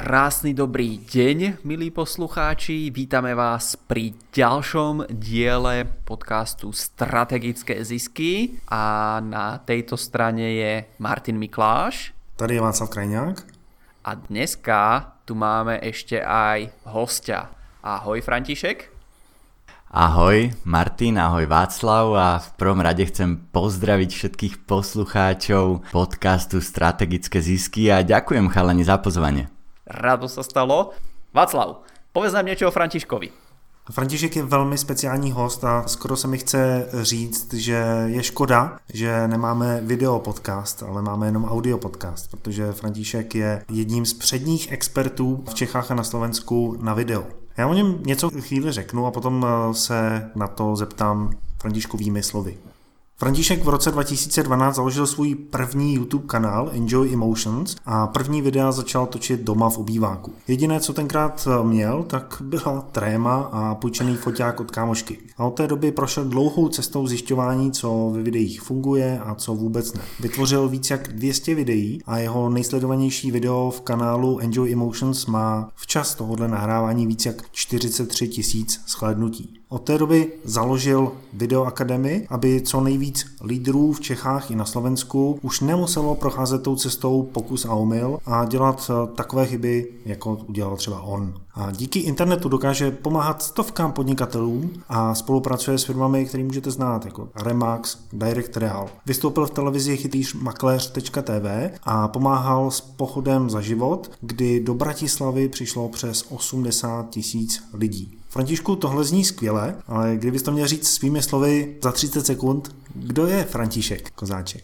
Krásny dobrý deň, milí poslucháči. Vítame vás pri ďalšom diele podcastu Strategické zisky a na tejto strane je Martin Mikláš. Tady je Václav Krajňák. A dneska tu máme ešte aj hostia. Ahoj František. Ahoj Martin, ahoj Václav a v prvom rade chcem pozdraviť všetkých poslucháčov podcastu Strategické zisky a ďakujem chalani za pozvanie. Rado sa stalo. Václav, povedz nám niečo o Františkovi. František je velmi speciální host a skoro se mi chce říct, že je škoda, že nemáme video podcast, ale máme jenom audio podcast, protože František je jedním z předních expertů v Čechách a na Slovensku na video. Já o něm něco chvíli řeknu a potom se na to zeptám Františkovými slovy. František v roce 2012 založil svůj první YouTube kanál Enjoy Emotions a první videa začal točit doma v obýváku. Jediné, co tenkrát měl, tak byla tréma a půjčený foťák od kámošky. A od té doby prošel dlouhou cestou zjišťování, co ve videích funguje a co vůbec ne. Vytvořil víc jak 200 videí a jeho nejsledovanější video v kanálu Enjoy Emotions má včas tohohle nahrávání víc jak 43 000 shlédnutí. Od té doby založil Videoakademii, aby co nejvíc lídrů v Čechách i na Slovensku už nemuselo procházet tou cestou pokus a omyl a dělat takové chyby, jako udělal třeba on. A díky internetu dokáže pomáhat stovkám podnikatelů a spolupracuje s firmami, které můžete znát, jako Remax, Direct Real. Vystoupil v televizi chytrýř makléř.tv a pomáhal s pochodem za život, kdy do Bratislavy přišlo přes 80 000 lidí. Františku, tohle zní skvěle, ale kdybys to měl říct svými slovy za 30 sekund, kdo je František Kozáček?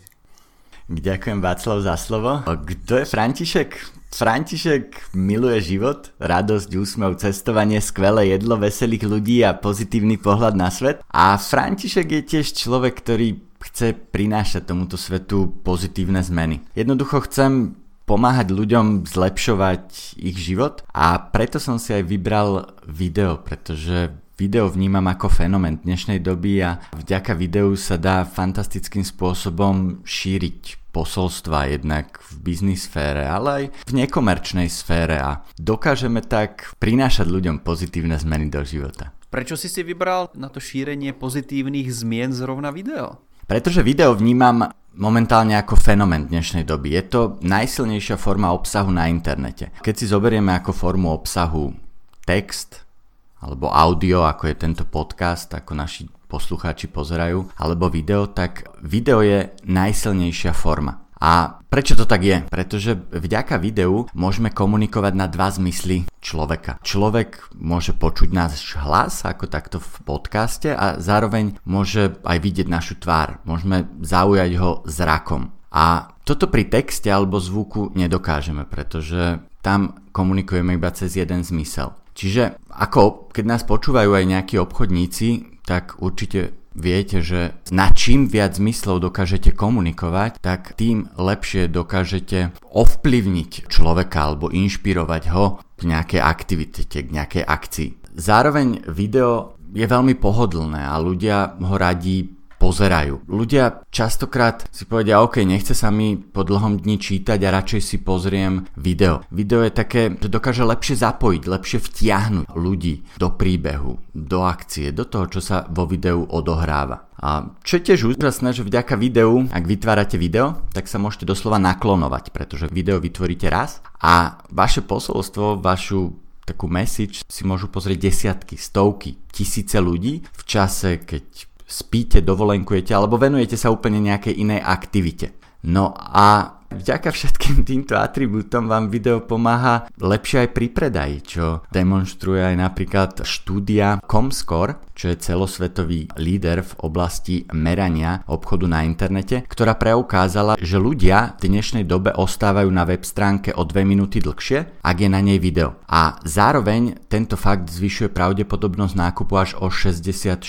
Ďakujem Václav za slovo. Kto je František? František miluje život, radosť, úsmev, cestovanie, skvelé jedlo, veselých ľudí a pozitívny pohľad na svet. A František je tiež človek, ktorý chce prinášať tomuto svetu pozitívne zmeny. Jednoducho chcem pomáhať ľuďom zlepšovať ich život a preto som si aj vybral video, pretože video vnímam ako fenomén dnešnej doby a vďaka videu sa dá fantastickým spôsobom šíriť posolstva jednak v biznis sfére, ale aj v nekomerčnej sfére a dokážeme tak prinášať ľuďom pozitívne zmeny do života. Prečo si vybral na to šírenie pozitívnych zmien zrovna video? Pretože video vnímam momentálne ako fenomén dnešnej doby. Je to najsilnejšia forma obsahu na internete. Keď si zoberieme ako formu obsahu text alebo audio, ako je tento podcast, ako naši poslucháči pozerajú, alebo video, tak video je najsilnejšia forma. A prečo to tak je? Pretože vďaka videu môžeme komunikovať na dva zmysly človeka. Človek môže počuť náš hlas, ako takto v podcaste, a zároveň môže aj vidieť našu tvár. Môžeme zaujať ho zrakom. A toto pri texte alebo zvuku nedokážeme, pretože tam komunikujeme iba cez jeden zmysel. Čiže ako keď nás počúvajú aj nejakí obchodníci, tak určite viete, že na čím viac zmyslov dokážete komunikovať, tak tým lepšie dokážete ovplyvniť človeka alebo inšpirovať ho k nejakej aktivite, k nejakej akcii. Zároveň video je veľmi pohodlné a ľudia ho radi pozerajú. Ľudia častokrát si povedia, OK, nechce sa mi po dlhom dni čítať a radšej si pozriem video. Video je také, že dokáže lepšie zapojiť, lepšie vtiahnuť ľudí do príbehu, do akcie, do toho, čo sa vo videu odohráva. A čo je tiež úžasné, že vďaka videu, ak vytvárate video, tak sa môžete doslova naklonovať, pretože video vytvoríte raz a vaše posolstvo, vašu takú message si môžu pozrieť desiatky, stovky, tisíce ľudí v čase, keď spíte, dovolenkujete alebo venujete sa úplne nejakej inej aktivite. No a vďaka všetkým týmto atribútom vám video pomáha lepšie aj pri predaji, čo demonstruje aj napríklad štúdia Comscore, čo je celosvetový líder v oblasti merania obchodu na internete, ktorá preukázala, že ľudia v dnešnej dobe ostávajú na web stránke o 2 minúty dlhšie, ak je na nej video. A zároveň tento fakt zvyšuje pravdepodobnosť nákupu až o 64%.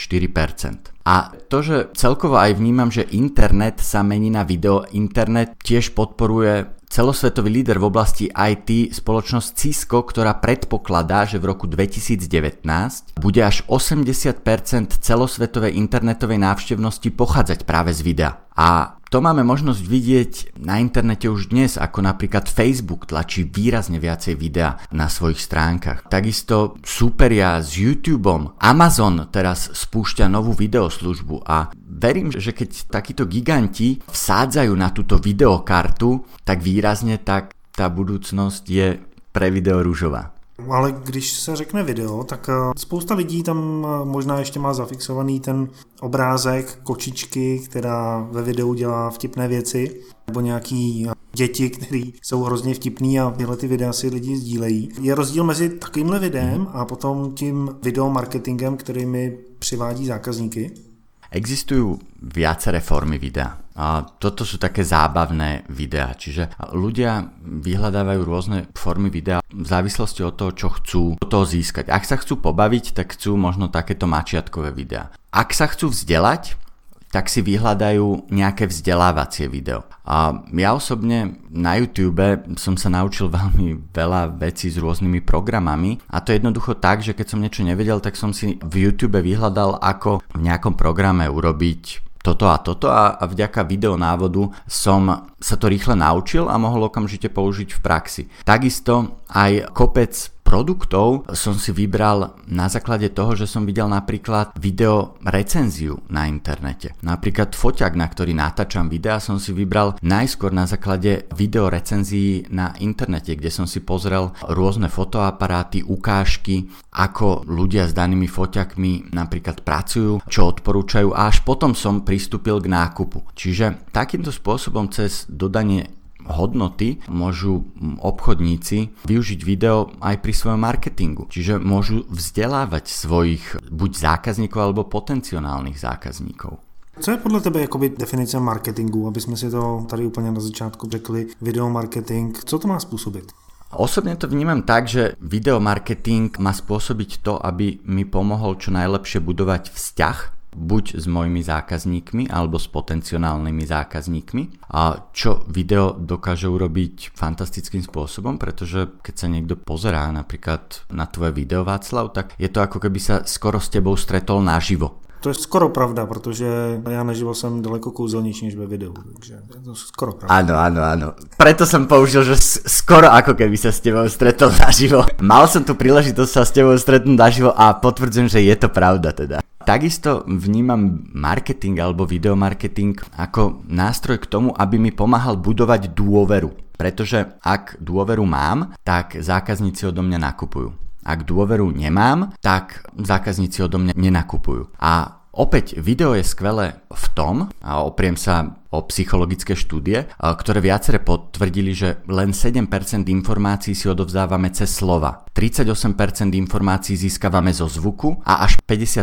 A to, že celkovo aj vnímam, že internet sa mení na video, internet tiež podporuje celosvetový líder v oblasti IT spoločnosť Cisco, ktorá predpokladá, že v roku 2019 bude až 80% celosvetovej internetovej návštevnosti pochádzať práve z videa. A to máme možnosť vidieť na internete už dnes, ako napríklad Facebook tlačí výrazne viacej videa na svojich stránkach. Takisto súperia s YouTubeom. Amazon teraz spúšťa novú videoslužbu a verím, že keď takíto giganti vsádzajú na túto videokartu tak výrazne, tak tá budúcnosť je pre video ružová. Ale když se řekne video, tak spousta lidí tam možná ještě má zafixovaný ten obrázek kočičky, která ve videu dělá vtipné věci, nebo nějaký děti, který jsou hrozně vtipný a tyhle ty videa si lidi sdílejí. Je rozdíl mezi takovýmhle videem a potom tím videomarketingem, který mi přivádí zákazníky? Existujú viaceré formy videa. A toto sú také zábavné videá, čiže ľudia vyhľadávajú rôzne formy videa v závislosti od toho, čo chcú od toho získať. Ak sa chcú pobaviť, tak chcú možno takéto mačiatkové videá. Ak sa chcú vzdelať, tak si vyhľadajú nejaké vzdelávacie video. A ja osobne na YouTube som sa naučil veľmi veľa vecí s rôznymi programami a to je jednoducho tak, že keď som niečo nevedel, tak som si v YouTube vyhľadal, ako v nejakom programe urobiť toto a toto a vďaka videonávodu som sa to rýchle naučil a mohol okamžite použiť v praxi. Takisto aj kopec produktov som si vybral na základe toho, že som videl napríklad video recenziu na internete. Napríklad foťák, na ktorý natáčam videa, som si vybral najskôr na základe video recenzií na internete, kde som si pozrel rôzne fotoaparáty, ukážky, ako ľudia s danými foťakmi napríklad pracujú, čo odporúčajú a až potom som pristúpil k nákupu. Čiže takýmto spôsobom cez dodanie hodnoty môžu obchodníci využiť video aj pri svojom marketingu. Čiže môžu vzdelávať svojich buď zákazníkov alebo potenciálnych zákazníkov. Co je podle tebe jakoby definice marketingu, aby jsme si to tady úplně na začátku řekli, videomarketing, co to má způsobit? Osobne to vnímam tak, že videomarketing má spôsobiť to, aby mi pomohol čo najlepšie budovať vzťah buď s mojimi zákazníkmi alebo s potenciálnymi zákazníkmi. A čo video dokáže urobiť fantastickým spôsobom, pretože keď sa niekto pozerá napríklad na tvoje video, Václav, tak je to ako keby sa skoro s tebou stretol naživo. To je skoro pravda, protože já naživo jsem daleko kouzelnější než ve videu, takže je to skoro pravda. Áno. Preto som použil, že skoro ako keby sa s tebou stretol naživo. Mal som tu príležitosť sa s tebou stretnúť naživo a potvrdzujem, že je to pravda teda. Takisto vnímam marketing alebo videomarketing ako nástroj k tomu, aby mi pomáhal budovať dôveru. Pretože ak dôveru mám, tak zákazníci odo mňa nakupujú. Ak dôveru nemám, tak zákazníci odo mňa nenakupujú. A opäť video je skvelé v tom, a opriem sa o psychologické štúdie, ktoré viacere potvrdili, že len 7% informácií si odovzdávame cez slova. 38% informácií získavame zo zvuku a až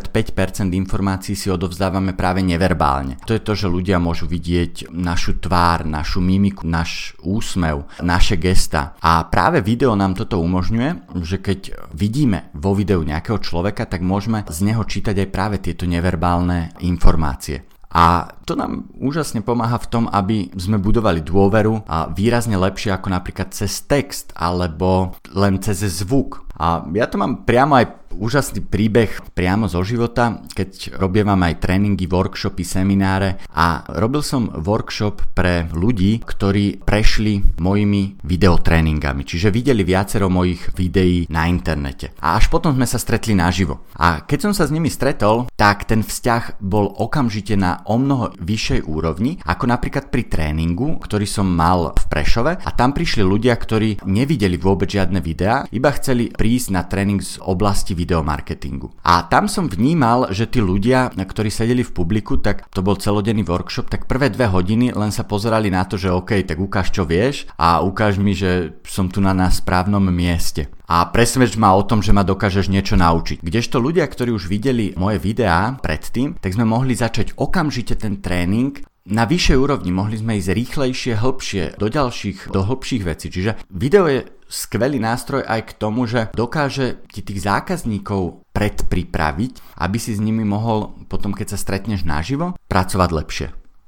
55% informácií si odovzdávame práve neverbálne. To je to, že ľudia môžu vidieť našu tvár, našu mimiku, náš úsmev, naše gesta. A práve video nám toto umožňuje, že keď vidíme vo videu nejakého človeka, tak môžeme z neho čítať aj práve tieto neverbálne informácie. A to nám úžasne pomáha v tom, aby sme budovali dôveru a výrazne lepšie ako napríklad cez text alebo len cez zvuk. A ja to mám priamo aj úžasný príbeh priamo zo života, keď robievam aj tréningy, workshopy, semináre a robil som workshop pre ľudí, ktorí prešli mojimi videotréningami, čiže videli viacero mojich videí na internete. A až potom sme sa stretli naživo. A keď som sa s nimi stretol, tak ten vzťah bol okamžite na omnoho vyššej úrovni, ako napríklad pri tréningu, ktorý som mal v Prešove a tam prišli ľudia, ktorí nevideli vôbec žiadne videá, iba chceli prísť na tréning z oblasti videomarketingu. A tam som vnímal, že tí ľudia, ktorí sedeli v publiku, tak to bol celodenný workshop, tak prvé 2 hodiny len sa pozerali na to, že OK, tak ukáž čo vieš a ukáž mi, že som tu na správnom mieste. A presvedč ma o tom, že ma dokážeš niečo naučiť. Kdežto ľudia, ktorí už videli moje videá predtým, tak sme mohli začať okamžite ten tréning na vyššej úrovni, mohli sme ísť rýchlejšie, hĺbšie, do hĺbších vecí. Čiže video je skvelý nástroj aj k tomu, že dokáže ti tých zákazníkov predpripraviť, aby si s nimi mohol potom, keď sa stretneš naživo, pracovať lepšie.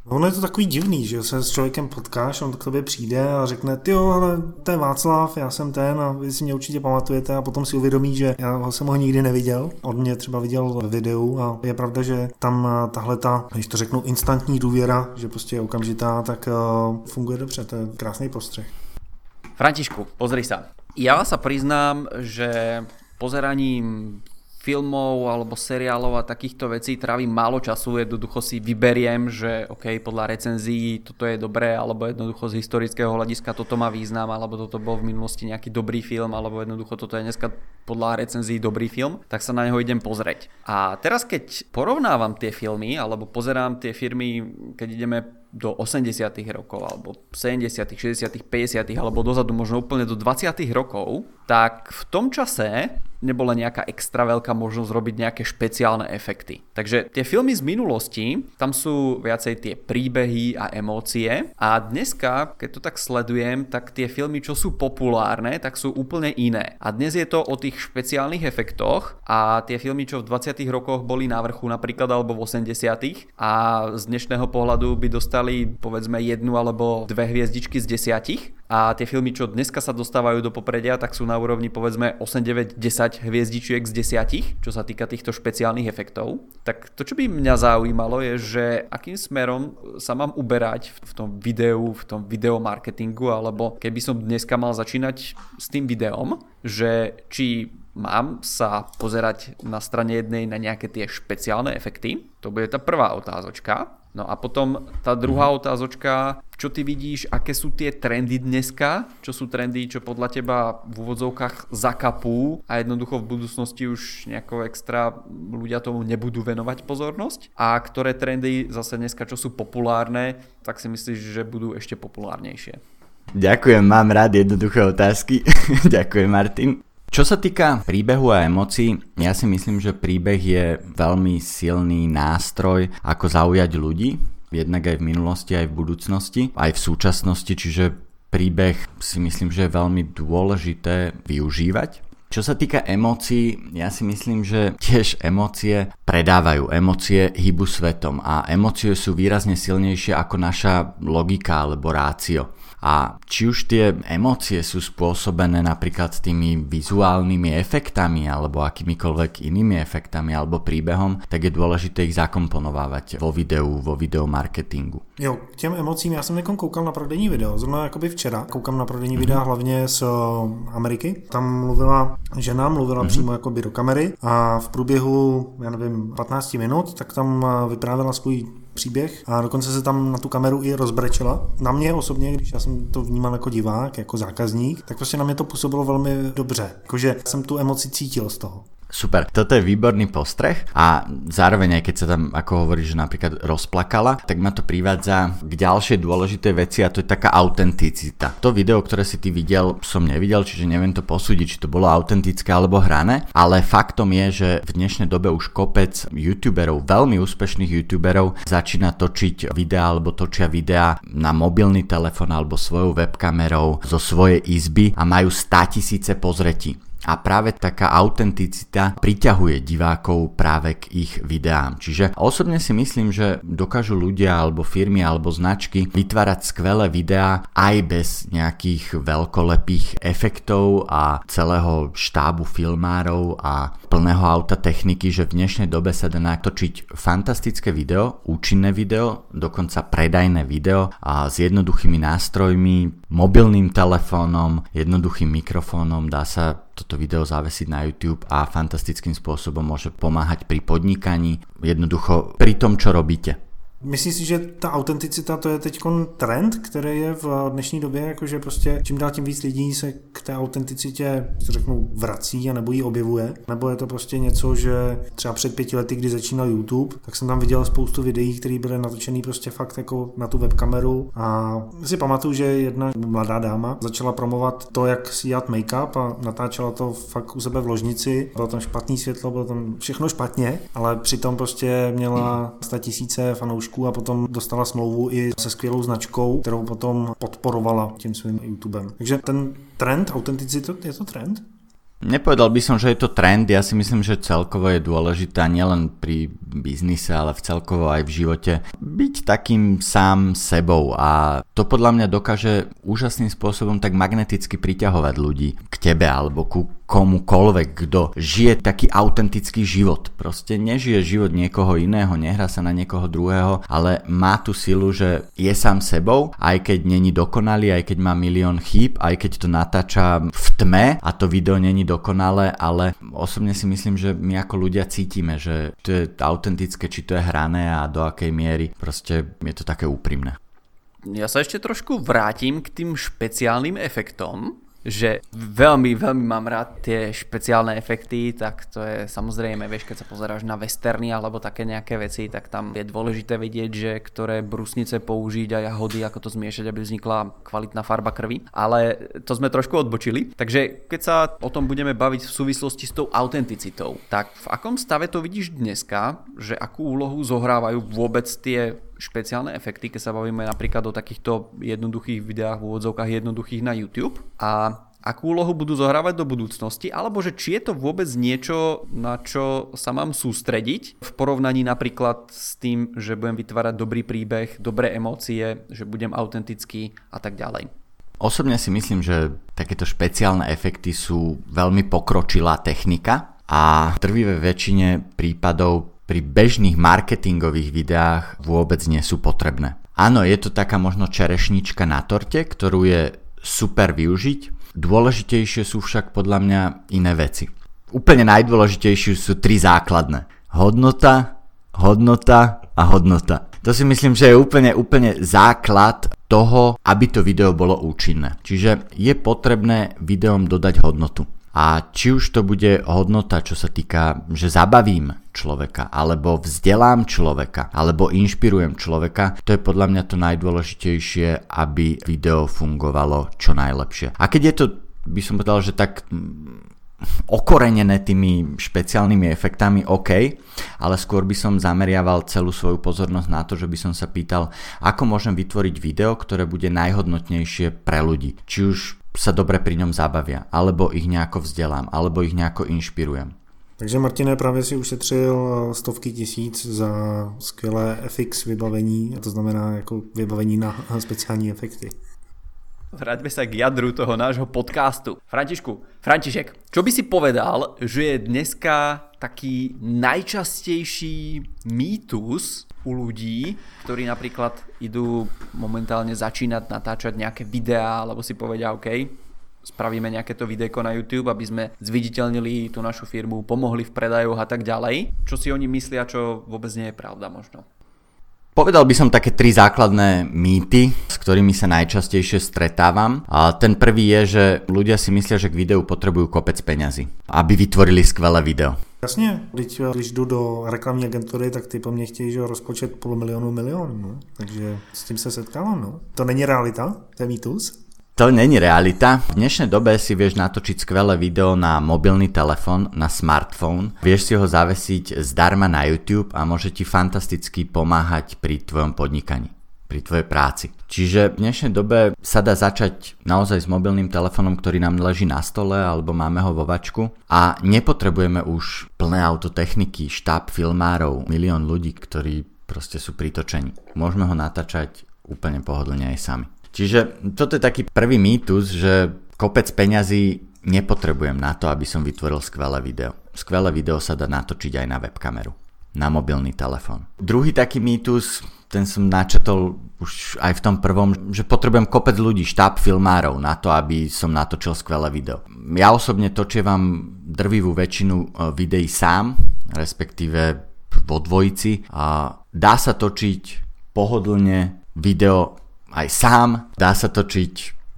Ono je to takový divný, že se s člověkem potkáš, on k tobě přijde a řekne, tyjo, ale to je Václav, já jsem ten a vy si mě určitě pamatujete a potom si uvědomí, že já jsem ho nikdy neviděl. On mě třeba viděl ve videu a je pravda, že tam tahleta, když to řeknu, instantní důvěra, že prostě je okamžitá, tak funguje dobře, to je krásný postřeh. Františku, pozri sa. Ja sa priznám, že pozeraním filmov alebo seriálov a takýchto vecí trávim málo času, jednoducho si vyberiem, že OK, podľa recenzií toto je dobré, alebo jednoducho z historického hľadiska toto má význam, alebo toto bol v minulosti nejaký dobrý film, alebo jednoducho toto je dneska podľa recenzií dobrý film, tak sa na neho idem pozrieť. A teraz keď porovnávam tie filmy, alebo pozerám tie filmy, keď ideme do 80. rokov, alebo 70., 60., 50., alebo dozadu možno úplne do 20. rokov, tak v tom čase nebola nejaká extra veľká možnosť robiť nejaké špeciálne efekty. Takže tie filmy z minulosti, tam sú viacej tie príbehy a emócie a dneska, keď to tak sledujem, tak tie filmy, čo sú populárne, tak sú úplne iné. A dnes je to o tých špeciálnych efektoch a tie filmy, čo v 20. rokoch boli na vrchu napríklad alebo v 80. a z dnešného pohľadu by dostali povedzme 1 alebo 2 hviezdičky z 10 a tie filmy, čo dneska sa dostávajú do popredia, tak sú na úrovni povedzme 8, 9, 10 hviezdičiek z 10, čo sa týka týchto špeciálnych efektov. Tak to, čo by mňa zaujímalo, je, že akým smerom sa mám uberať v tom videu, v tom videomarketingu, alebo keby som dneska mal začínať s tým videom, že či mám sa pozerať na strane jednej na nejaké tie špeciálne efekty, to bude tá prvá otázočka. No a potom tá druhá otázočka, čo ty vidíš, aké sú tie trendy dneska, čo sú trendy, čo podľa teba v úvodzovkách zakapú a jednoducho v budúcnosti už nejako extra ľudia tomu nebudú venovať pozornosť a ktoré trendy zase dneska, čo sú populárne, tak si myslíš, že budú ešte populárnejšie? Ďakujem, mám rád jednoduché otázky. Ďakujem, Martin. Čo sa týka príbehu a emócií, ja si myslím, že príbeh je veľmi silný nástroj, ako zaujať ľudí, jednak aj v minulosti, aj v budúcnosti, aj v súčasnosti, čiže príbeh si myslím, že je veľmi dôležité využívať. Čo sa týka emócií, ja si myslím, že tiež emócie predávajú, emócie hýbu svetom a emócie sú výrazne silnejšie ako naša logika alebo rácio. A či už tie emócie sú spôsobené napríklad tými vizuálnymi efektami alebo akýmikoľvek inými efektami alebo príbehom, tak je dôležité ich zakomponovávať vo videu, vo videomarketingu. Jo, k těm emocím já jsem někam koukal na prodejní video, zrovna jakoby včera, koukám na prodejní videa hlavně z Ameriky. Tam žena mluvila přímo jakoby do kamery a v průběhu, já nevím, 15 minut, tak tam vyprávěla svůj příběh a dokonce se tam na tu kameru i rozbrečela. Na mě osobně, když já jsem to vnímal jako divák, jako zákazník, tak prostě na mě to působilo velmi dobře. Jakože jsem tu emoci cítil z toho. Super, toto je výborný postreh a zároveň aj keď sa tam, ako hovoríš, že napríklad rozplakala, tak ma to privádza k ďalšej dôležitej veci a to je taká autenticita. To video, ktoré si ty videl, som nevidel, čiže neviem to posúdiť, či to bolo autentické alebo hrané, ale faktom je, že v dnešnej dobe už kopec youtuberov, veľmi úspešných youtuberov začína točiť videá alebo točia videá na mobilný telefón alebo svojou webkamerou zo svojej izby a majú 100 000 pozretí. A práve taká autenticita priťahuje divákov práve k ich videám. Čiže osobne si myslím, že dokážu ľudia alebo firmy alebo značky vytvárať skvelé videá aj bez nejakých veľkolepých efektov a celého štábu filmárov a plného auta techniky, že v dnešnej dobe sa dá natočiť fantastické video, účinné video, dokonca predajné video a s jednoduchými nástrojmi, mobilným telefónom, jednoduchým mikrofónom dá sa toto video zavesiť na YouTube a fantastickým spôsobom môže pomáhať pri podnikaní, jednoducho pri tom, čo robíte. Myslím si, že ta autenticita to je teď trend, který je v dnešní době, jakože prostě čím dál tím víc lidí se k té autenticitě, řeknu, vrací a nebo ji objevuje. Nebo je to prostě něco, že třeba před 5 lety, kdy začínal YouTube, tak jsem tam viděl spoustu videí, které byly natočený prostě fakt jako na tu webkameru a si pamatuju, že jedna mladá dáma začala promovat to, jak si dělat make-up a natáčela to fakt u sebe v ložnici. Bylo tam špatný světlo, bylo tam všechno špatně, ale přitom prostě měla 100 000 fanoušků a potom dostala smlouvu i se skvělou značkou, kterou potom podporovala tím svým YouTubem. Takže ten trend, autenticita, je to trend? Nepovedal by som, že je to trend, ja si myslím, že celkovo je dôležité nielen pri biznise, ale celkovo aj v živote byť takým sám sebou a to podľa mňa dokáže úžasným spôsobom tak magneticky priťahovať ľudí k tebe alebo ku komukoľvek, kto žije taký autentický život. Proste nežije život niekoho iného, nehrá sa na niekoho druhého, ale má tú silu, že je sám sebou, aj keď není dokonalý, aj keď má milión chýb, aj keď to natáča v tme a to video není dokonalé, ale osobne si myslím, že my ako ľudia cítime, že to je autentické, či to je hrané a do akej miery. Proste je to také úprimné. Ja sa ešte trošku vrátim k tým špeciálnym efektom, že veľmi mám rád tie špeciálne efekty, tak to je samozrejme, vieš, keď sa pozeráš na westerny alebo také nejaké veci, tak tam je dôležité vedieť, že ktoré brusnice použiť a jahody, ako to zmiešať, aby vznikla kvalitná farba krvi. Ale to sme trošku odbočili. Takže keď sa o tom budeme baviť v súvislosti s tou autenticitou, tak v akom stave to vidíš dneska, že akú úlohu zohrávajú vôbec tie špeciálne efekty, keď sa bavíme napríklad o takýchto jednoduchých videách v úvodzovkách jednoduchých na YouTube a akú úlohu budú zohrávať do budúcnosti, alebo že či je to vôbec niečo, na čo sa mám sústrediť v porovnaní napríklad s tým, že budem vytvárať dobrý príbeh, dobré emócie, že budem autentický a tak ďalej. Osobne si myslím, že takéto špeciálne efekty sú veľmi pokročilá technika a v drvivej väčšine prípadov pri bežných marketingových videách vôbec nie sú potrebné. Áno, je to taká možno čerešnička na torte, ktorú je super využiť. Dôležitejšie sú však podľa mňa iné veci. Úplne najdôležitejšie sú 3 základné. Hodnota, hodnota a hodnota. To si myslím, že je úplne základ toho, aby to video bolo účinné. Čiže je potrebné videom dodať hodnotu. A či už to bude hodnota, čo sa týka, že zabavím človeka, alebo vzdelám človeka, alebo inšpirujem človeka, to je podľa mňa to najdôležitejšie, aby video fungovalo čo najlepšie. A keď je to, by som povedal, že tak okorenené tými špeciálnymi efektami, OK, ale skôr by som zameriaval celú svoju pozornosť na to, že by som sa pýtal, ako môžem vytvoriť video, ktoré bude najhodnotnejšie pre ľudí. Či už sa dobre pri ňom zabavia, alebo ich nejako vzdelám, alebo ich nejako inšpirujem. Takže Martine, právě si ušetřil stovky tisíc za skvělé FX vybavení, a to znamená jako vybavení na speciální efekty. Vráťme sa k jadru toho nášho podcastu. František, čo by si povedal, že je dneska taký najčastejší mýtus u ľudí, ktorí napríklad idú momentálne začínať natáčať nejaké videá, alebo si povedia, OK, spravíme nejaké to videjko na YouTube, aby sme zviditeľnili tú našu firmu, pomohli v predajoch a tak ďalej. Čo si oni myslia, čo vôbec nie je pravda možno? Povedal by som také 3 základné mýty, s ktorými sa najčastejšie stretávam. A ten prvý je, že ľudia si myslia, že k videu potrebujú kopec peňazí, aby vytvorili skvelé video. Jasně, když jdu do reklamní agentury, tak ty po mně chtějí, že rozpočet milion, no. Takže s tím se setkávám, no. To není realita, to je mýtus. To není realita. V dnešnej dobe si vieš natočiť skvelé video na mobilný telefón, na smartphone. Vieš si ho zavesiť zdarma na YouTube a môže ti fantasticky pomáhať pri tvojom podnikaní, pri tvojej práci. Čiže v dnešnej dobe sa dá začať naozaj s mobilným telefónom, ktorý nám leží na stole alebo máme ho vo vačku a nepotrebujeme už plné autotechniky, štáb filmárov, milión ľudí, ktorí proste sú pritočení. Môžeme ho natáčať úplne pohodlne aj sami. Čiže toto je taký prvý mýtus, že kopec peňazí nepotrebujem na to, aby som vytvoril skvelé video. Skvelé video sa dá natočiť aj na webkameru, na mobilný telefón. Druhý taký mýtus, ten som načetol už aj v tom prvom, že potrebujem kopec ľudí, štáb filmárov na to, aby som natočil skvelé video. Ja osobne točievam drvivú väčšinu videí sám, respektíve vo dvojici a dá sa točiť pohodlne video aj sám, dá sa točiť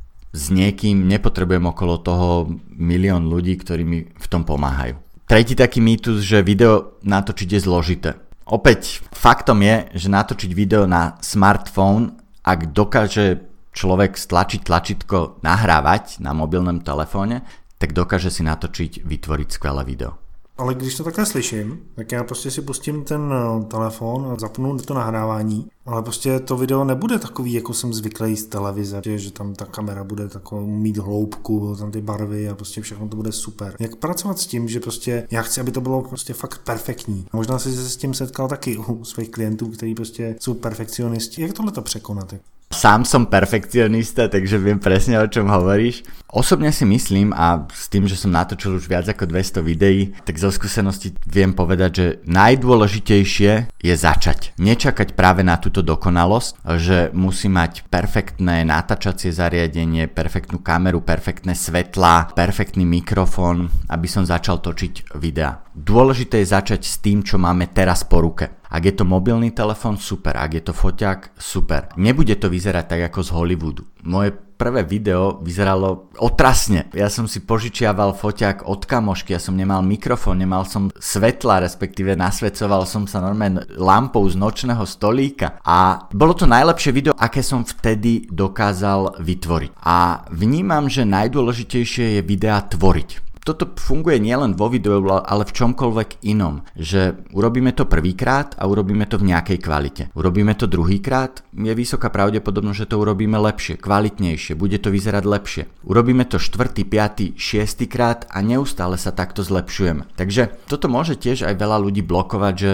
s niekým, nepotrebujem okolo toho milión ľudí, ktorí mi v tom pomáhajú. Tretí taký mýtus, že video natočiť je zložité. Opäť faktom je, že natočiť video na smartphone, ak dokáže človek stlačiť tlačítko nahrávať na mobilnom telefóne, tak dokáže si natočiť, vytvoriť skvelé video. Ale když to takhle slyším, tak já prostě si pustím ten telefon a zapnu to nahrávání, ale prostě to video nebude takový, jako jsem zvyklý z televize, že tam ta kamera bude takovou mít hloubku, tam ty barvy a prostě všechno to bude super. Jak pracovat s tím, že prostě já chci, aby to bylo prostě fakt perfektní. A možná jsi se s tím setkal taky u svých klientů, kteří prostě jsou perfekcionisti. Jak tohle to překonat? Sám som perfekcionista, takže viem presne, o čom hovoríš. Osobne si myslím, a s tým, že som natočil už viac ako 200 videí, tak zo skúsenosti viem povedať, že najdôležitejšie je začať. Nečakať práve na túto dokonalosť, že musí mať perfektné natáčacie zariadenie, perfektnú kameru, perfektné svetlá, perfektný mikrofón, aby som začal točiť videá. Dôležité je začať s tým, čo máme teraz po ruke. Ak je to mobilný telefón, super. Ak je to foťák, super. Nebude to vyzerať tak ako z Hollywoodu. Moje prvé video vyzeralo otrasne. Ja som si požičiaval foťák od kamošky, ja som nemal mikrofón, nemal som svetla, respektíve nasvedcoval som sa normálne lampou z nočného stolíka. A bolo to najlepšie video, aké som vtedy dokázal vytvoriť. A vnímam, že najdôležitejšie je videá tvoriť. Toto funguje nielen vo videu, ale v čomkoľvek inom, že urobíme to prvýkrát a urobíme to v nejakej kvalite. Urobíme to druhýkrát, je vysoká pravdepodobnosť, že to urobíme lepšie, kvalitnejšie, bude to vyzerať lepšie. Urobíme to 4., 5., 6. krát a neustále sa takto zlepšujeme. Takže toto môže tiež aj veľa ľudí blokovať, že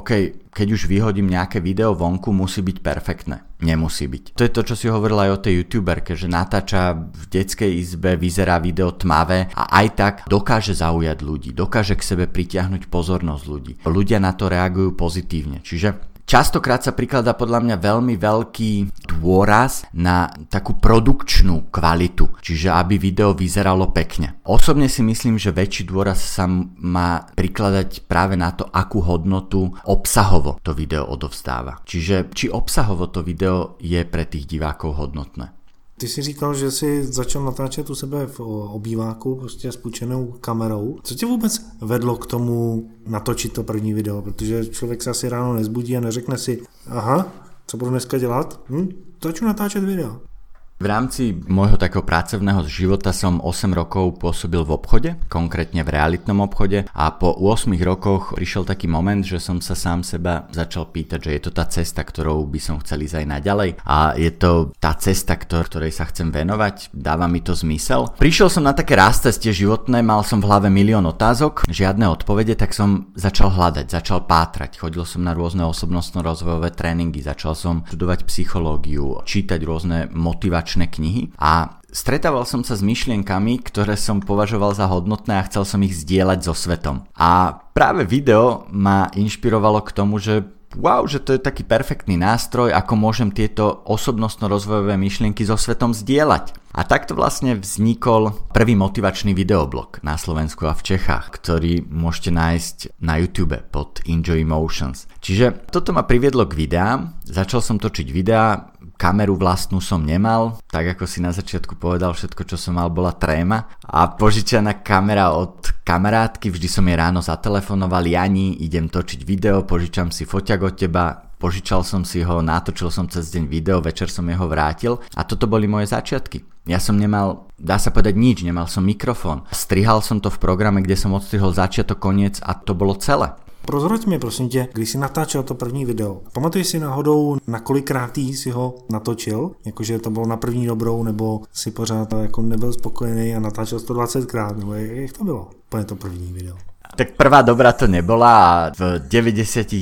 keď už vyhodím nejaké video vonku, musí byť perfektné. Nemusí byť. To je to, čo si hovorila aj o tej youtuberke, že natáča v detskej izbe, vyzerá video tmavé a aj tak dokáže zaujať ľudí, dokáže k sebe pritiahnuť pozornosť ľudí. Ľudia na to reagujú pozitívne. Čiže častokrát sa prikladá podľa mňa veľmi veľký dôraz na takú produkčnú kvalitu, čiže aby video vyzeralo pekne. Osobne si myslím, že väčší dôraz sa má prikladať práve na to, akú hodnotu obsahovo to video odovzdáva. Čiže či obsahovo to video je pre tých divákov hodnotné. Ty jsi říkal, že jsi začal natáčet u sebe v obýváku prostě s půjčenou kamerou. Co tě vůbec vedlo k tomu natočit to první video? Protože člověk se asi ráno nezbudí a neřekne si, aha, co budu dneska dělat? Začnu natáčet video. V rámci môjho takého pracovného života som 8 rokov pôsobil v obchode, konkrétne v realitnom obchode a po 8 rokoch prišiel taký moment, že som sa sám seba začal pýtať, že je to tá cesta, ktorou by som chcel ísť aj naďalej a je to tá cesta, ktorej sa chcem venovať, dáva mi to zmysel. Prišiel som na také rázcestie životné, mal som v hlave milión otázok, žiadne odpovede, tak som začal hľadať, začal pátrať, chodil som na rôzne osobnostno-rozvojové tréningy, začal som študovať psychológiu, čítať rôzne motivačné knihy a stretával som sa s myšlienkami, ktoré som považoval za hodnotné a chcel som ich zdieľať so svetom. A práve video ma inšpirovalo k tomu, že wow, že to je taký perfektný nástroj, ako môžem tieto osobnostno-rozvojové myšlienky so svetom zdieľať. A takto vlastne vznikol prvý motivačný videoblog na Slovensku a v Čechách, ktorý môžete nájsť na YouTube pod Enjoy Emotions. Čiže toto ma priviedlo k videám, začal som točiť videá, kameru vlastnú som nemal, tak ako si na začiatku povedal, všetko čo som mal bola tréma a požičaná kamera od kamarátky, vždy som jej ráno zatelefonoval, Jani, idem točiť video, požičam si foťak od teba, požičal som si ho, natočil som cez deň video, večer som jeho vrátil a toto boli moje začiatky. Ja som nemal, dá sa povedať nič, nemal som mikrofón, strihal som to v programe, kde som odstrihol začiatok, koniec a to bolo celé. Prozrať mi, prosím tě, když jsi natáčel to první video, pamatuješ si náhodou, na kolikrát jsi ho natočil? Jakože to bylo na první dobrou, nebo si pořád jako nebyl spokojený a natáčel 120krát, nebo jak to bylo? Úplně to první video. Tak prvá dobrá to nebola a v 99%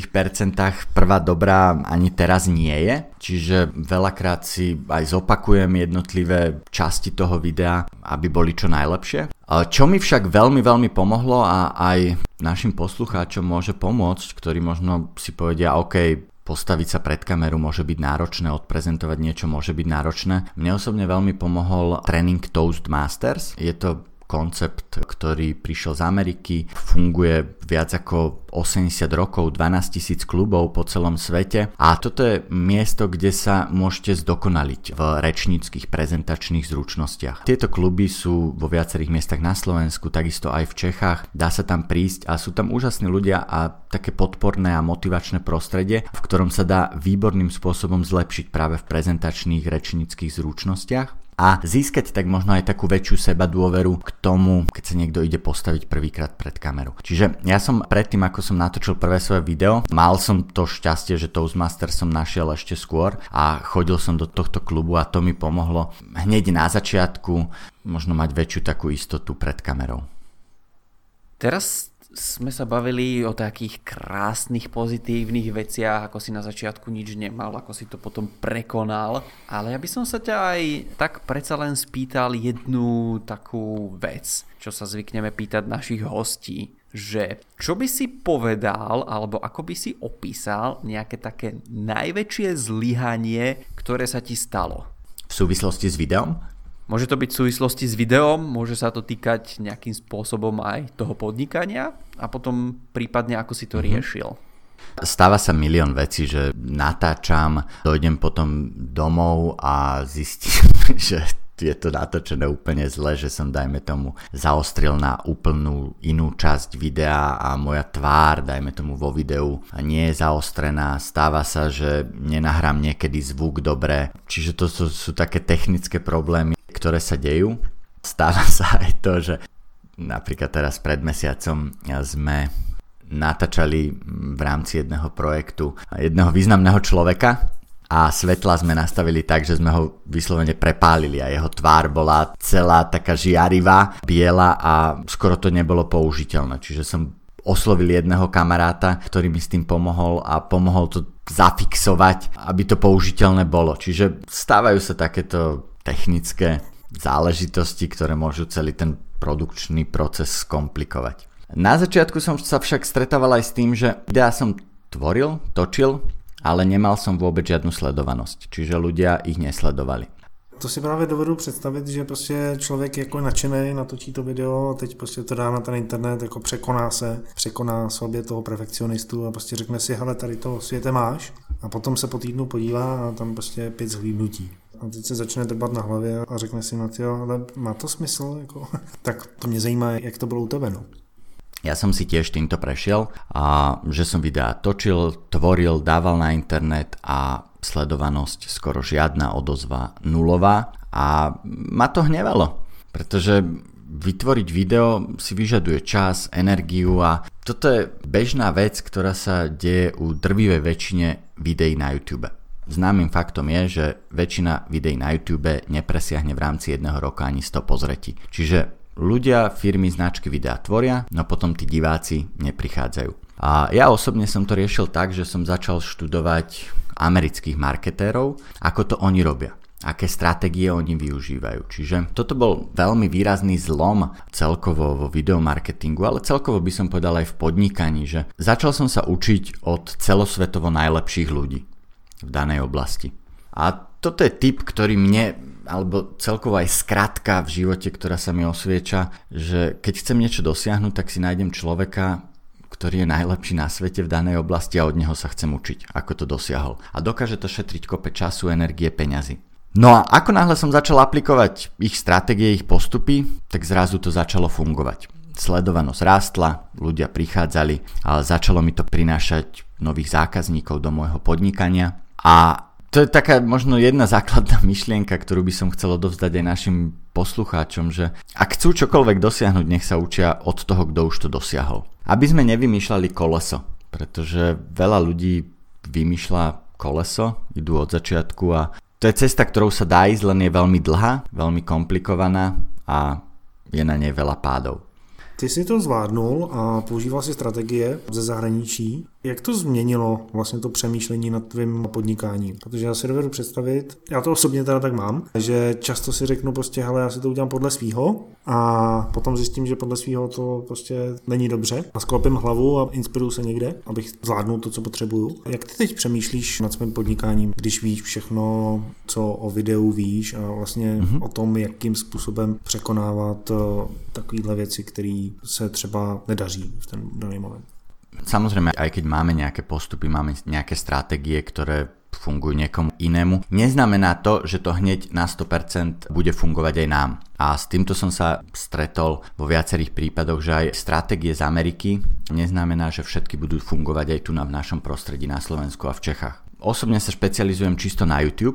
prvá dobrá ani teraz nie je. Čiže veľakrát si aj zopakujem jednotlivé časti toho videa, aby boli čo najlepšie. Čo mi však veľmi, veľmi pomohlo a aj našim poslucháčom môže pomôcť, ktorí možno si povedia, OK, postaviť sa pred kameru môže byť náročné, odprezentovať niečo môže byť náročné. Mne osobne veľmi pomohol tréning Toastmasters. Je to koncept, ktorý prišiel z Ameriky, funguje viac ako 80 rokov, 12 000 klubov po celom svete a toto je miesto, kde sa môžete zdokonaliť v rečníckych prezentačných zručnostiach. Tieto kluby sú vo viacerých miestach na Slovensku, takisto aj v Čechách, dá sa tam prísť a sú tam úžasní ľudia a také podporné a motivačné prostredie, v ktorom sa dá výborným spôsobom zlepšiť práve v prezentačných rečníckych zručnostiach. a získať tak možno aj takú väčšiu sebadôveru k tomu, keď sa niekto ide postaviť prvýkrát pred kameru. Čiže ja som predtým, ako som natočil prvé svoje video, mal som to šťastie, že Toastmaster som našiel ešte skôr a chodil som do tohto klubu a to mi pomohlo hneď na začiatku možno mať väčšiu takú istotu pred kamerou. Teraz sme sa bavili o takých krásnych, pozitívnych veciach, ako si na začiatku nič nemal, ako si to potom prekonal. Ale ja by som sa ťa aj tak predsa len spýtal jednu takú vec, čo sa zvykneme pýtať našich hostí, že čo by si povedal, alebo ako by si opísal nejaké také najväčšie zlyhanie, ktoré sa ti stalo? V súvislosti s videom? Môže to byť v súvislosti s videom, môže sa to týkať nejakým spôsobom aj toho podnikania a potom prípadne ako si to riešil. Stáva sa milión vecí, že natáčam, dojdem potom domov a zistím, že je to natočené úplne zle, že som, dajme tomu, zaostril na úplnú inú časť videa a moja tvár, dajme tomu, vo videu nie je zaostrená. Stáva sa, že nenahrám niekedy zvuk dobre, čiže to sú také technické problémy, ktoré sa dejú. Stáva sa aj to, že napríklad teraz pred mesiacom sme natáčali v rámci jedného projektu jedného významného človeka a svetla sme nastavili tak, že sme ho vyslovene prepálili a jeho tvár bola celá taká žiarivá, biela a skoro to nebolo použiteľné. Čiže som oslovil jedného kamaráta, ktorý mi s tým pomohol a pomohol to zafixovať, aby to použiteľné bolo. Čiže stávajú sa takéto technické záležitosti, ktoré môžu celý ten produkčný proces skomplikovať. Na začiatku som sa však stretával aj s tým, že videá som točil, ale nemal som vôbec žiadnu sledovanosť, čiže ľudia ich nesledovali. To si právě dovedu představit, že prostě člověk jako nadšený, natočí to video, teď prostě to dá na ten internet, jako překoná sobě toho perfekcionistu a prostě řekne si, hele, tady to světe máš, a potom se po týdnu podívá a tam prostě 5 zhlídnutí. A teď se začne drbat na hlavě a řekne si, ale má to smysl? Jako? Tak to mě zajímá, jak to bylo u tebe, no. Ja som si tiež týmto prešiel a že som videá točil, tvoril, dával na internet a sledovanosť skoro žiadna, odozva nulová a ma to hnevalo, pretože vytvoriť video si vyžaduje čas, energiu a toto je bežná vec, ktorá sa deje u drvivej väčšine videí na YouTube. Známym faktom je, že väčšina videí na YouTube nepresiahne v rámci jedného roka ani 100 pozretí. Čiže ľudia, firmy, značky videá tvoria, no potom tí diváci neprichádzajú. A ja osobne som to riešil tak, že som začal študovať amerických marketérov, ako to oni robia, aké stratégie oni využívajú. Čiže toto bol veľmi výrazný zlom celkovo vo videomarketingu, ale celkovo by som povedal aj v podnikaní, že začal som sa učiť od celosvetovo najlepších ľudí v danej oblasti. A toto je tip, ktorý mne, alebo celkovo aj skratka v živote, ktorá sa mi osvieča, že keď chcem niečo dosiahnuť, tak si nájdem človeka, ktorý je najlepší na svete v danej oblasti a od neho sa chcem učiť, ako to dosiahol. A dokáže to šetriť kope času, energie, peňazí. No a ako náhle som začal aplikovať ich stratégie, ich postupy, tak zrazu to začalo fungovať. Sledovanosť rástla, ľudia prichádzali a začalo mi to prinášať nových zákazníkov do môjho podnikania a to je taká možno jedna základná myšlienka, ktorú by som chcel odovzdať aj našim poslucháčom, že ak chcú čokoľvek dosiahnuť, nech sa učia od toho, kto už to dosiahol. Aby sme nevymýšľali koleso, pretože veľa ľudí vymýšľa koleso, idú od začiatku a to je cesta, ktorou sa dá ísť, len je veľmi dlhá, veľmi komplikovaná a je na nej veľa pádov. Ty si to zvládnul a používal si strategie ze zahraničí. Jak to změnilo vlastně to přemýšlení nad tvým podnikáním? Protože já si dovedu představit, já to osobně teda tak mám, že často si řeknu prostě, hele, já si to udělám podle svýho a potom zjistím, že podle svýho to prostě není dobře a sklopím hlavu a inspiruju se někde, abych zvládnul to, co potřebuju. Jak ty teď přemýšlíš nad svým podnikáním, když víš všechno, co o videu víš a vlastně o tom, jakým způsobem překonávat takovýhle věci, které se třeba nedaří v ten daný moment? Samozrejme, aj keď máme nejaké postupy, máme nejaké stratégie, ktoré fungujú niekomu inému, neznamená to, že to hneď na 100% bude fungovať aj nám. A s týmto som sa stretol vo viacerých prípadoch, že aj stratégie z Ameriky neznamená, že všetky budú fungovať aj tu v našom prostredí na Slovensku a v Čechách. Osobne sa špecializujem čisto na YouTube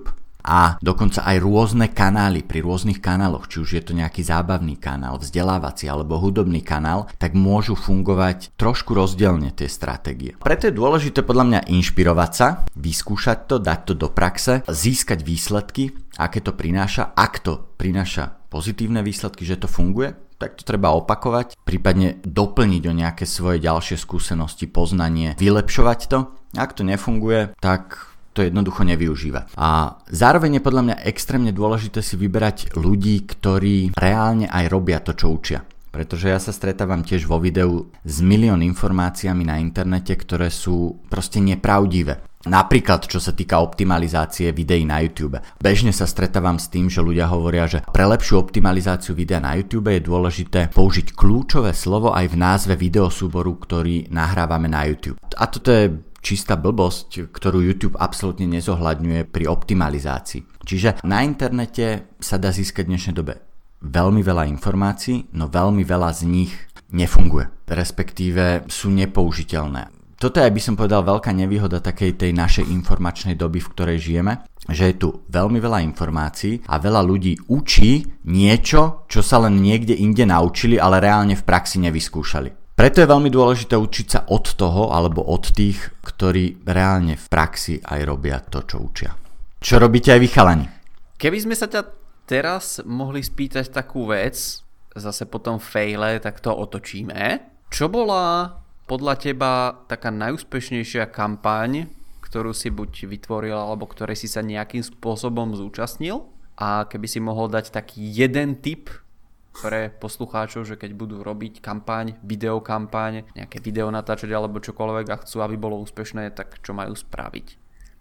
a dokonca aj rôzne kanály pri rôznych kanáloch, či už je to nejaký zábavný kanál, vzdelávací alebo hudobný kanál, tak môžu fungovať trošku rozdielne tie stratégie. Preto je dôležité podľa mňa inšpirovať sa, vyskúšať to, dať to do praxe, získať výsledky, aké to prináša. Ak to prináša pozitívne výsledky, že to funguje, tak to treba opakovať, prípadne doplniť o nejaké svoje ďalšie skúsenosti, poznanie, vylepšovať to. Ak to nefunguje, tak to jednoducho nevyužíva. A zároveň je podľa mňa extrémne dôležité si vyberať ľudí, ktorí reálne aj robia to, čo učia. Pretože ja sa stretávam tiež vo videu s milión informáciami na internete, ktoré sú proste nepravdivé. Napríklad, čo sa týka optimalizácie videí na YouTube. Bežne sa stretávam s tým, že ľudia hovoria, že pre lepšiu optimalizáciu videa na YouTube je dôležité použiť kľúčové slovo aj v názve videosúboru, ktorý nahrávame na YouTube. A toto je čistá blbosť, ktorú YouTube absolútne nezohľadňuje pri optimalizácii. Čiže na internete sa dá získať v dnešnej dobe veľmi veľa informácií, no veľmi veľa z nich nefunguje, respektíve sú nepoužiteľné. Toto je, by som povedal, veľká nevýhoda takej tej našej informačnej doby, v ktorej žijeme, že je tu veľmi veľa informácií a veľa ľudí učí niečo, čo sa len niekde inde naučili, ale reálne v praxi nevyskúšali. Preto je veľmi dôležité učiť sa od toho alebo od tých, ktorí reálne v praxi aj robia to, čo učia. Čo robíte aj vy, chalani? Keby sme sa ťa teraz mohli spýtať takú vec, zase po tom faile, tak to otočíme. Čo bola podľa teba taká najúspešnejšia kampaň, ktorú si buď vytvoril, alebo ktorej si sa nejakým spôsobom zúčastnil? A keby si mohol dať taký jeden tip pre poslucháčov, že keď budú robiť kampaň, videokampaň, nejaké video natáčať alebo čokoľvek a chcú, aby bolo úspešné, tak čo majú spraviť?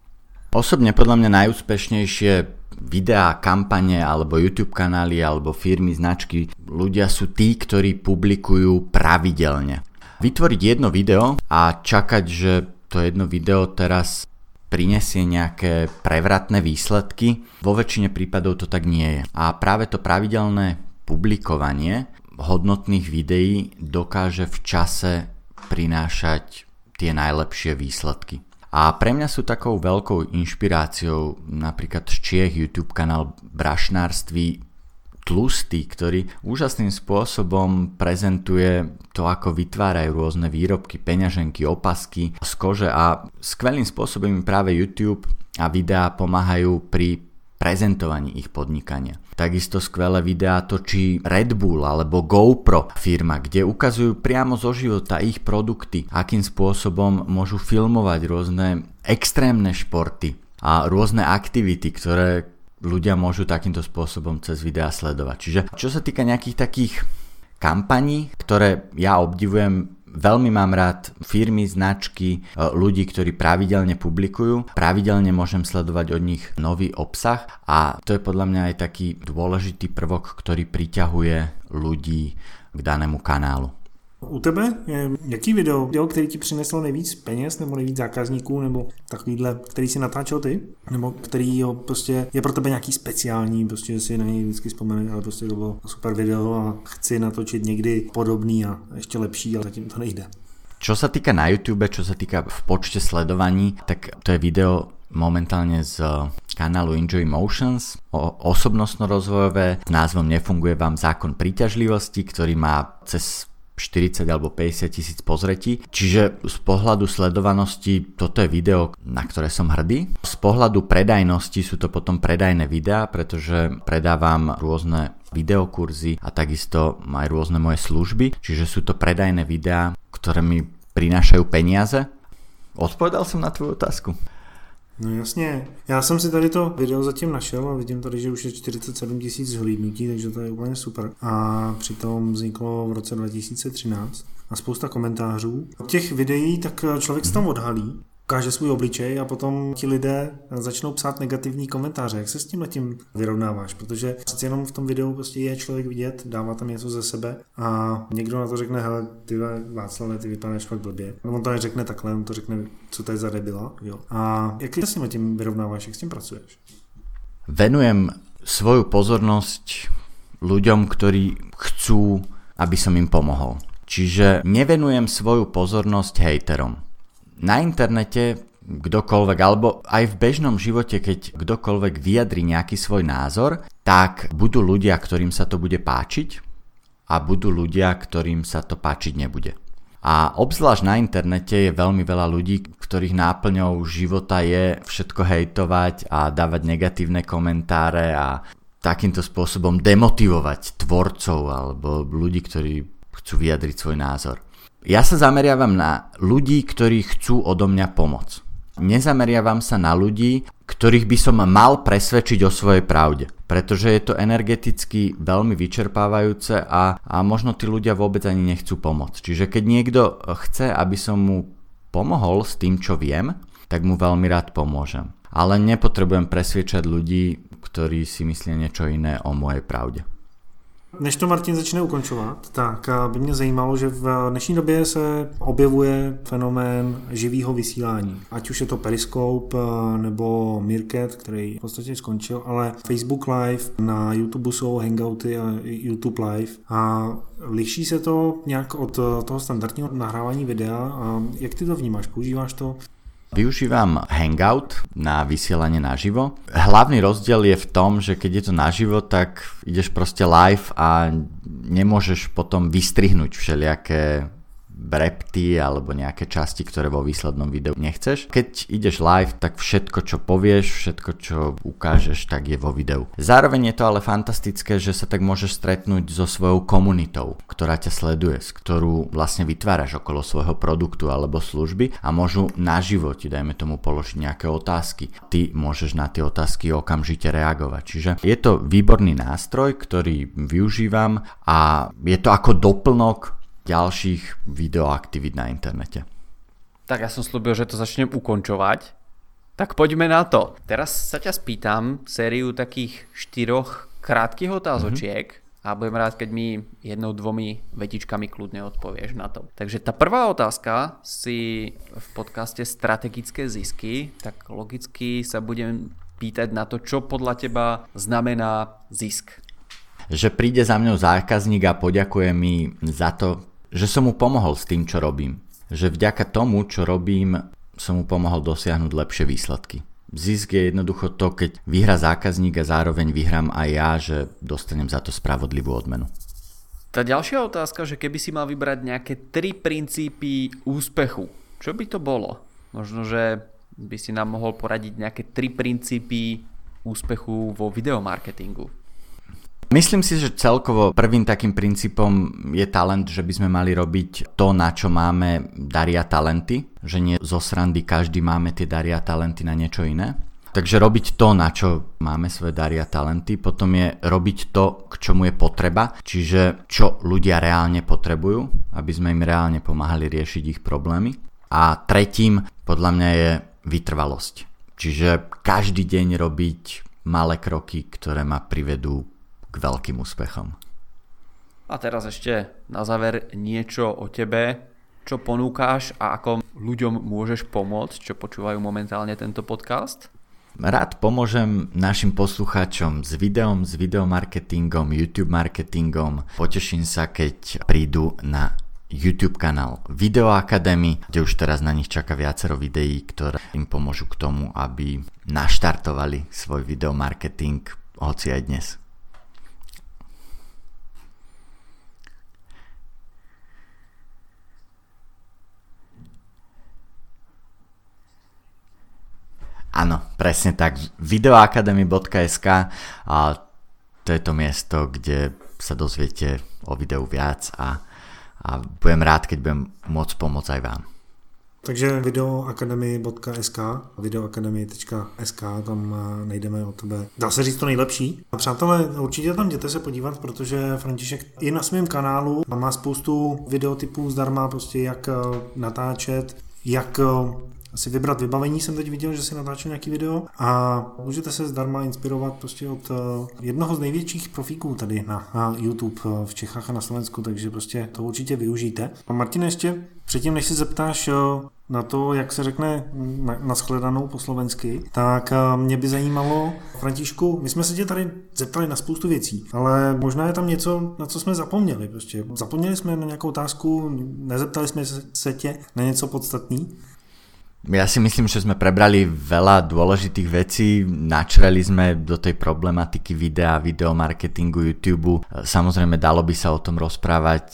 Osobne podľa mňa najúspešnejšie videá, kampane alebo YouTube kanály alebo firmy, značky, ľudia sú tí, ktorí publikujú pravidelne. Vytvoriť jedno video a čakať, že to jedno video teraz prinesie nejaké prevratné výsledky, vo väčšine prípadov to tak nie je. A práve to pravidelné publikovanie hodnotných videí dokáže v čase prinášať tie najlepšie výsledky. A pre mňa sú takou veľkou inšpiráciou napríklad z Čiech YouTube kanál Brašnárství Tlustý, ktorý úžasným spôsobom prezentuje to, ako vytvárajú rôzne výrobky, peňaženky, opasky z kože a skvelým spôsobom im práve YouTube a videá pomáhajú pri prezentovaní ich podnikania. Takisto skvelé videá točí Red Bull alebo GoPro firma, kde ukazujú priamo zo života ich produkty, akým spôsobom môžu filmovať rôzne extrémne športy a rôzne aktivity, ktoré ľudia môžu takýmto spôsobom cez videá sledovať. Čiže čo sa týka nejakých takých kampaní, ktoré ja obdivujem, veľmi mám rád firmy, značky, ľudí, ktorí pravidelne publikujú. Pravidelne môžem sledovať od nich nový obsah a to je podľa mňa aj taký dôležitý prvok, ktorý priťahuje ľudí k danému kanálu. U tebe je jaký video, který ti přineslo nejvíc peněz nebo nejvíc zákazníků, nebo takovýhle, který si natáčel ty, nebo který prostě je pro tebe nějaký speciální, prostě si na něj vždycky vzpomeneš, ale prostě to bylo super video a chci natočit někdy podobný a ještě lepší, ale zatím to nejde. Čo sa týka na YouTube, čo sa týka v počte sledovaní, tak to je video momentálne z kanálu Enjoy Motions, osobnostno-rozvojové, s názvom Nefunguje vám zákon príťažlivosti, ktorý má cez 40 alebo 50 tisíc pozretí. Čiže z pohľadu sledovanosti toto je video, na ktoré som hrdý. Z pohľadu predajnosti sú to potom predajné videá, pretože predávam rôzne videokurzy a takisto aj rôzne moje služby. Čiže sú to predajné videá, ktoré mi prinášajú peniaze. Odpovedal som na tvoju otázku? No jasně, já jsem si tady to video zatím našel a vidím tady, že už je 47 000 zhlídnutí, takže to je úplně super. A přitom vzniklo v roce 2013 a spousta komentářů. Od těch videí tak člověk se tam odhalí, ukáže svůj obličej a potom ti lidé začnou psát negativní komentáře. Jak se s tímhletím vyrovnáváš? Protože přeci jenom v tom videu prostě je člověk vidět, dává tam něco ze sebe a někdo na to řekne, hele, ty Václave, ty vypadáš fakt blbě. No on to neřekne takhle, on to řekne, co to je za debila. Jo. A jak se s tímhletím vyrovnáváš, jak s tím pracuješ? Venujem svoju pozornosť ľuďom, ktorí chcú, aby som im pomohol. Čiže nevenujem svoju pozornosť hejterom. Na internete kdokoľvek, alebo aj v bežnom živote, keď kdokoľvek vyjadri nejaký svoj názor, tak budú ľudia, ktorým sa to bude páčiť a budú ľudia, ktorým sa to páčiť nebude. A obzvlášť na internete je veľmi veľa ľudí, ktorých náplňou života je všetko hejtovať a dávať negatívne komentáre a takýmto spôsobom demotivovať tvorcov alebo ľudí, ktorí chcú vyjadriť svoj názor. Ja sa zameriavam na ľudí, ktorí chcú odo mňa pomoc. Nezameriavam sa na ľudí, ktorých by som mal presvedčiť o svojej pravde, pretože je to energeticky veľmi vyčerpávajúce a možno tí ľudia vôbec ani nechcú pomôcť. Čiže keď niekto chce, aby som mu pomohol s tým, čo viem, tak mu veľmi rád pomôžem. Ale nepotrebujem presviečať ľudí, ktorí si myslia niečo iné o mojej pravde. Než to Martin začne ukončovat, tak by mě zajímalo, že v dnešní době se objevuje fenomén živého vysílání. Ať už je to Periscope nebo Meerkat, který v podstatě skončil, ale Facebook Live, na YouTube jsou Hangouty a YouTube Live. A liší se to nějak od toho standardního nahrávání videa? A jak ty to vnímáš? Používáš to? Využívam Hangout na vysielanie naživo. Hlavný rozdiel je v tom, že keď je to naživo, tak ideš proste live a nemôžeš potom vystrihnúť všelijaké brepty alebo nejaké časti, ktoré vo výslednom videu nechceš. Keď ideš live, tak všetko, čo povieš, všetko, čo ukážeš, tak je vo videu. Zároveň je to ale fantastické, že sa tak môžeš stretnúť so svojou komunitou, ktorá ťa sleduje, s ktorú vlastne vytváraš okolo svojho produktu alebo služby a môžu naživo ti, dajme tomu, položiť nejaké otázky. Ty môžeš na tie otázky okamžite reagovať. Čiže je to výborný nástroj, ktorý využívam a je to ako doplnok ďalších videoaktivít na internete. Tak ja som slúbil, že to začnem ukončovať. Tak poďme na to. Teraz sa ťa spýtam sériu takých 4 krátkych otázočiek a budem rád, keď mi 1-2 vetičkami kľudne odpovieš na to. Takže tá prvá otázka si v podcaste Strategické zisky, tak logicky sa budem pýtať na to, čo podľa teba znamená zisk. Že príde za mňou zákazník a poďakuje mi za to, že som mu pomohol s tým, čo robím. Že vďaka tomu, čo robím, som mu pomohol dosiahnuť lepšie výsledky. Zisk je jednoducho to, keď vyhrá zákazník a zároveň vyhrám aj ja, že dostanem za to spravodlivú odmenu. Tá ďalšia otázka, že keby si mal vybrať nejaké 3 princípy úspechu, čo by to bolo? Možno, že by si nám mohol poradiť nejaké 3 princípy úspechu vo videomarketingu. Myslím si, že celkovo prvým takým princípom je talent, že by sme mali robiť to, na čo máme daria talenty, že nie zo srandy každý máme tie daria talenty na niečo iné. Takže robiť to, na čo máme svoje daria talenty, potom je robiť to, k čomu je potreba, čiže čo ľudia reálne potrebujú, aby sme im reálne pomáhali riešiť ich problémy. A tretím podľa mňa je vytrvalosť. Čiže každý deň robiť malé kroky, ktoré ma privedú k veľkým úspechom. A teraz ešte na záver niečo o tebe, čo ponúkáš a ako ľuďom môžeš pomôcť, čo počúvajú momentálne tento podcast? Rád pomôžem našim poslucháčom s videom, s videomarketingom, YouTube marketingom. Poteším sa, keď prídu na YouTube kanál Video Academy, kde už teraz na nich čaká viacero videí, ktoré im pomôžu k tomu, aby naštartovali svoj videomarketing, hoci aj dnes. Áno, presne tak. Videoacademy.sk a to je to miesto, kde sa dozviete o videu viac a budem rád, keď budem môcť pomôcť aj vám. Takže videoacademy.sk, videoacademy.sk, tam najdeme od tebe, dá se říct, to nejlepší. A přátelé, určitě tam jděte se podívat, protože František i na svém kanálu má spoustu videotypů zdarma, prostě jak natáčet, jak si vybrat vybavení. Jsem teď viděl, že si natáčel nějaký video a můžete se zdarma inspirovat prostě od jednoho z největších profíků tady na YouTube v Čechách a na Slovensku, takže prostě to určitě využijte. A Martine, ještě předtím, než si zeptáš na to, jak se řekne na shledanou po slovensky, tak mě by zajímalo, Františku, my jsme se tě tady zeptali na spoustu věcí, ale možná je tam něco, na co jsme zapomněli. Prostě zapomněli jsme na nějakou otázku, nezeptali jsme se tě na něco podstatný? Ja si myslím, že sme prebrali veľa dôležitých vecí, načreli sme do tej problematiky videa, videomarketingu, YouTube. Samozrejme, dalo by sa o tom rozprávať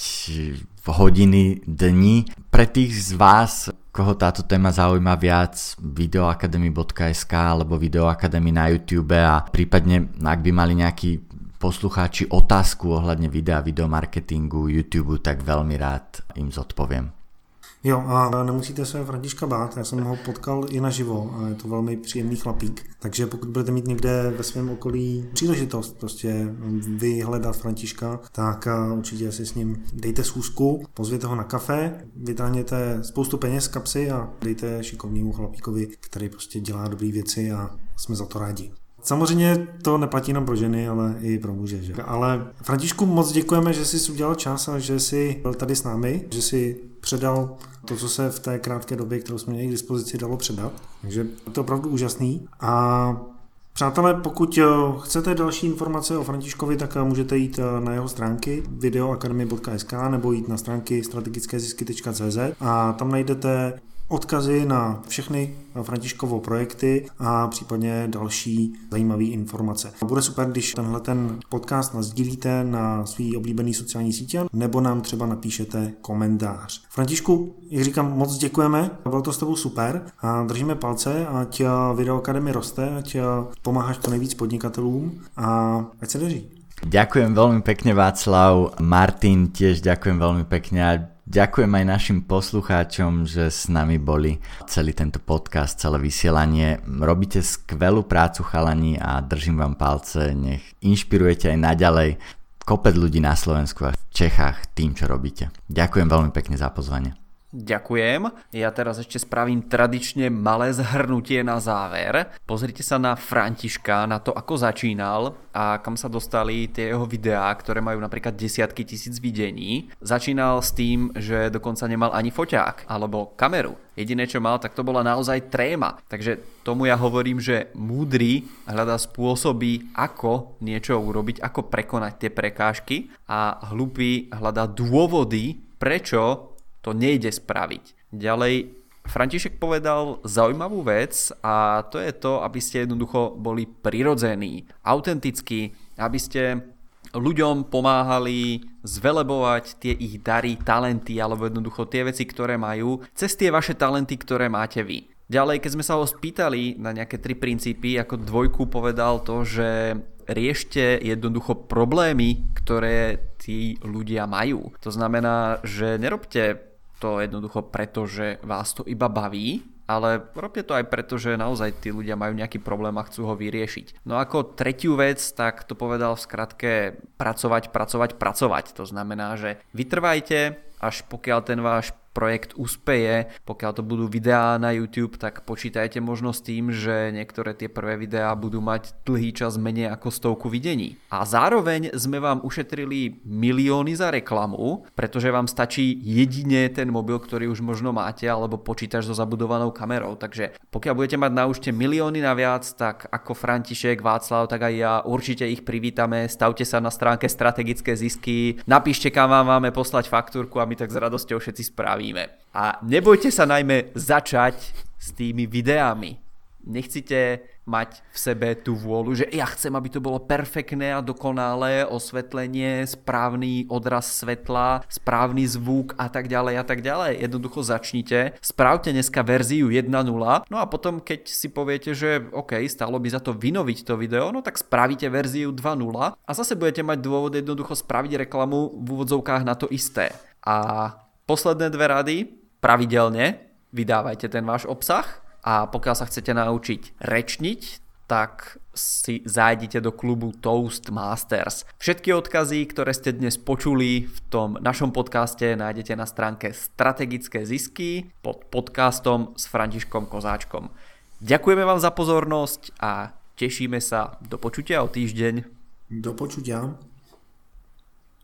v hodiny, dni. Pre tých z vás, koho táto téma zaujíma viac, videoakademy.sk alebo videoakademy na YouTube a prípadne, ak by mali nejakí poslucháči otázku ohľadne videa, videomarketingu, YouTube, tak veľmi rád im zodpoviem. Jo, a nemusíte se Františka bát, já jsem ho potkal i naživo a je to velmi příjemný chlapík. Takže pokud budete mít někde ve svém okolí příležitost prostě vyhledat Františka, tak určitě si s ním dejte schůzku, pozvěte ho na kafe, vytáhněte spoustu peněz z kapsy a dejte šikovnému chlapíkovi, který prostě dělá dobré věci a jsme za to rádi. Samozřejmě to neplatí jenom pro ženy, ale i pro muže. Že? Ale Františku, moc děkujeme, že jsi udělal čas a že jsi byl tady s námi, že jsi předal to, co se v té krátké době, kterou jsme měli k dispozici, dalo předat. Takže to je opravdu úžasný. A přátelé, pokud chcete další informace o Františkovi, tak můžete jít na jeho stránky videoakademy.sk nebo jít na stránky strategickézisky.cz a tam najdete odkazy na všechny Františkovo projekty a případně další zajímavé informace. Bude super, když tenhle podcast nasdílíte na svý oblíbený sociální sítě nebo nám třeba napíšete komentář. Františku, jak říkám, moc děkujeme, bylo to s tebou super a držíme palce, ať Video Academy roste, ať pomáháš to nejvíc podnikatelům a ať se daří. Ďakujem veľmi pekne, Václav. Martin, tiež ďakujem veľmi pekne a ďakujem aj našim poslucháčom, že s nami boli celý tento podcast, celé vysielanie. Robíte skvelú prácu, chalani, a držím vám palce, nech inšpirujete aj naďalej kopec ľudí na Slovensku a v Čechách tým, čo robíte. Ďakujem veľmi pekne za pozvanie. Ďakujem. Ja teraz ešte spravím tradične malé zhrnutie na záver. Pozrite sa na Františka, na to, ako začínal a kam sa dostali tie jeho videá, ktoré majú napríklad desiatky tisíc videní. Začínal s tým, že dokonca nemal ani foťák alebo kameru. Jediné, čo mal, tak to bola naozaj tréma. Takže tomu ja hovorím, že múdry hľadá spôsoby, ako niečo urobiť, ako prekonať tie prekážky a hlupý hľadá dôvody, prečo to nejde spraviť. Ďalej, František povedal zaujímavú vec a to je to, aby ste jednoducho boli prirodzení, autentickí, aby ste ľuďom pomáhali zvelebovať tie ich dary, talenty alebo jednoducho tie veci, ktoré majú, cez tie vaše talenty, ktoré máte vy. Ďalej, keď sme sa ho spýtali na nejaké 3 princípy, ako 2 povedal to, že riešte jednoducho problémy, ktoré tí ľudia majú. To znamená, že nerobte to jednoducho preto, že vás to iba baví, ale robte to aj preto, že naozaj tí ľudia majú nejaký problém a chcú ho vyriešiť. No ako 3. vec, tak to povedal v skratke pracovať. To znamená, že vytrvajte, až pokiaľ ten váš projekt uspeje, pokiaľ to budú videá na YouTube, tak počítajte možno s tým, že niektoré tie prvé videá budú mať dlhý čas menej ako 100 videní. A zároveň sme vám ušetrili milióny za reklamu, pretože vám stačí jedine ten mobil, ktorý už možno máte, alebo počítač so zabudovanou kamerou. Takže pokiaľ budete mať na účte milióny naviac, tak ako František, Václav, tak aj ja určite ich privítame. Stavte sa na stránke Strategické zisky, napíšte, kam vám máme poslať faktúrku a my tak s radosťou všetci spravíme. A nebojte sa najmä začať s tými videami. Nechcete mať v sebe tú vôľu, že ja chcem, aby to bolo perfektné a dokonalé osvetlenie, správny odraz svetla, správny zvuk a tak ďalej a tak ďalej. Jednoducho začnite, spravte dneska verziu 1.0, no a potom keď si poviete, že OK, stalo by za to vynoviť to video, no tak spravíte verziu 2.0 a zase budete mať dôvod jednoducho spraviť reklamu v úvodzovkách na to isté. A posledné 2 rady, pravidelne vydávajte ten váš obsah a pokiaľ sa chcete naučiť rečniť, tak si zájdite do klubu Toastmasters. Všetky odkazy, ktoré ste dnes počuli v tom našom podcaste, nájdete na stránke Strategické zisky pod podcastom s Františkom Kozáčkom. Ďakujeme vám za pozornosť a tešíme sa do počutia o týždeň. Do počutia.